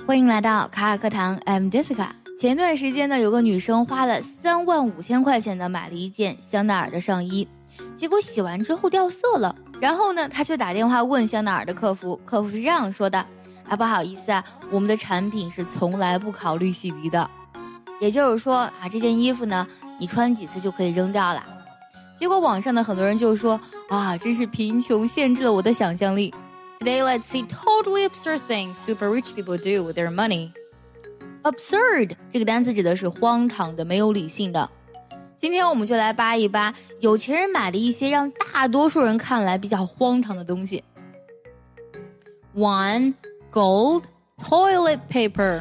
欢迎来到卡卡课堂 I'm Jessica。 前段时间呢，有个女生花了35000块钱的买了一件香奈儿的上衣，结果洗完之后掉色了。然后呢，她就打电话问香奈儿的客服，客服是这样说的：不好意思啊，我们的产品是从来不考虑洗涤的。也就是说这件衣服呢，你穿几次就可以扔掉了。结果网上的很多人就说真是贫穷限制了我的想象力。Today let's see totally absurd things super rich people do with their money. Absurd 这个单词指的是荒唐的、没有理性的。今天我们就来扒一扒有钱人买的一些让大多数人看来比较荒唐的东西。1. Gold toilet paper.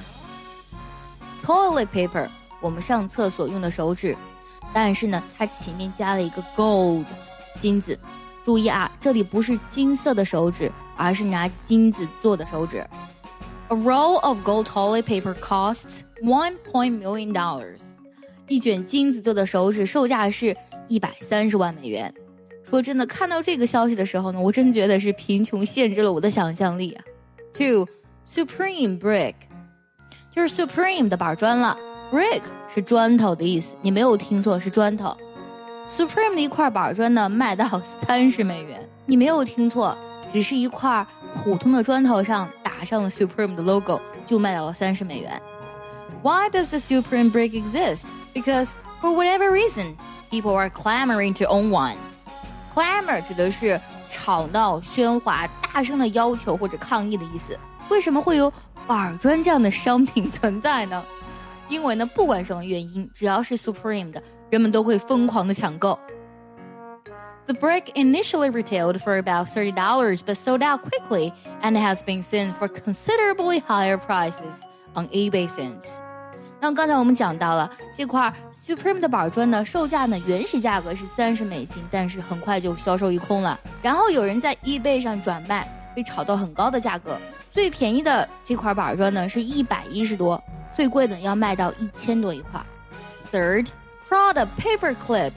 Toilet paper 我们上厕所用的手纸，但是呢它前面加了一个 gold 金子。注意这里不是金色的手纸，而是拿金子做的手纸。A roll of gold toilet paper costs $1 million. 一卷金子做的手纸售价是130万美元。说真的，看到这个消息的时候呢，我真觉得是贫穷限制了我的想象力。2. Supreme brick 就是 Supreme 的板砖了。Brick 是砖头的意思，你没有听错，是砖头。Supreme 的一块板砖呢，卖到30美元。你没有听错，只是一块普通的砖头上打上了 Supreme 的 logo， 就卖到了30美元。Why does the Supreme brick exist? Because for whatever reason, people are clamoring to own one. Clamor 指的是吵闹、喧哗、大声的要求或者抗议的意思。为什么会有板砖这样的商品存在呢？因为呢，不管什么原因，只要是 Supreme 的，人们都会疯狂的抢购。The brick initially retailed for about $30 but sold out quickly and has been seen for considerably higher prices on eBay since. 那刚才我们讲到了这块 Supreme 的板砖呢，售价呢原始价格是30美金，但是很快就销售一空了。然后有人在 eBay 上转卖，被炒到很高的价格。最便宜的这块板砖呢是110多，最贵的要卖到1000多一块。Third, Prada paper clip.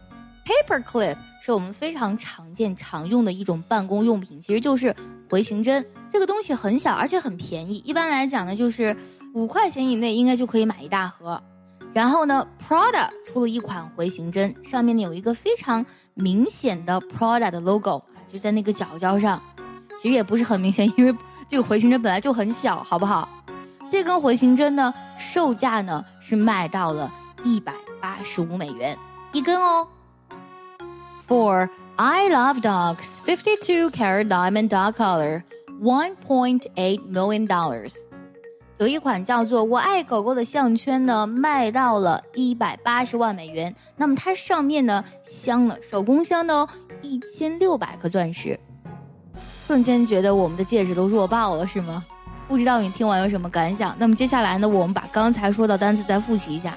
Paper clip 是我们非常常见常用的一种办公用品，其实就是回形针。这个东西很小而且很便宜，一般来讲呢就是5块钱以内应该就可以买一大盒。然后呢 Prada 出了一款回形针，上面呢有一个非常明显的 Prada 的 logo， 就在那个角角上。其实也不是很明显，因为这个回形针本来就很小，好不好？这根回形针呢售价呢是卖到了185美元一根哦。4. I love dogs 52 karat diamond dog collar $1.8 million. 有一款叫做我爱狗狗的项圈呢卖到了180万美元，那么它上面呢镶了手工镶的1600颗钻石。瞬间觉得我们的戒指都弱爆了是吗？不知道你听完有什么感想？那么接下来呢，我们把刚才说到单词再复习一下。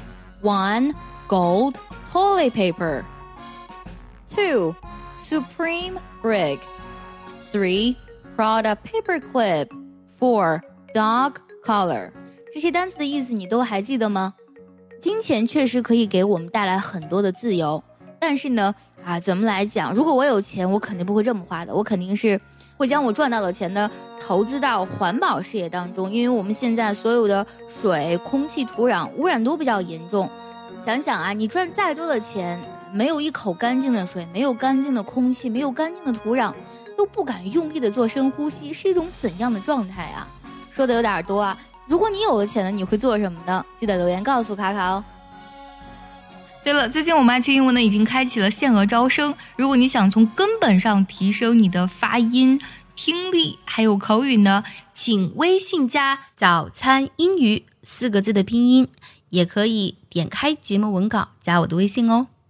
1. Gold toilet paper. 2. Supreme brick. 3. Prada paper clip. 4. Dog collar. 这些单词的意思你都还记得吗？金钱确实可以给我们带来很多的自由，但是呢怎么来讲，如果我有钱，我肯定不会这么花的，我肯定是会将我赚到的钱呢投资到环保事业当中。因为我们现在所有的水、空气、土壤污染都比较严重。想想你赚再多的钱，没有一口干净的水，没有干净的空气，没有干净的土壤，都不敢用力的做深呼吸，是一种怎样的状态啊？说的有点多如果你有了钱呢，你会做什么呢？记得留言告诉卡卡哦。对了，最近我们爱趣英文呢已经开启了限额招生，如果你想从根本上提升你的发音、听力还有口语呢，请微信加早餐英语4个字的拼音，也可以点开节目文稿加我的微信哦。